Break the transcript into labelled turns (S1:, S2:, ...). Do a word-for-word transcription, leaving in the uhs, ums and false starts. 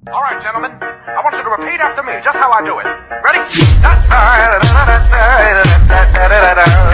S1: All right, gentlemen, I want you to repeat after me, just how I do it. Ready?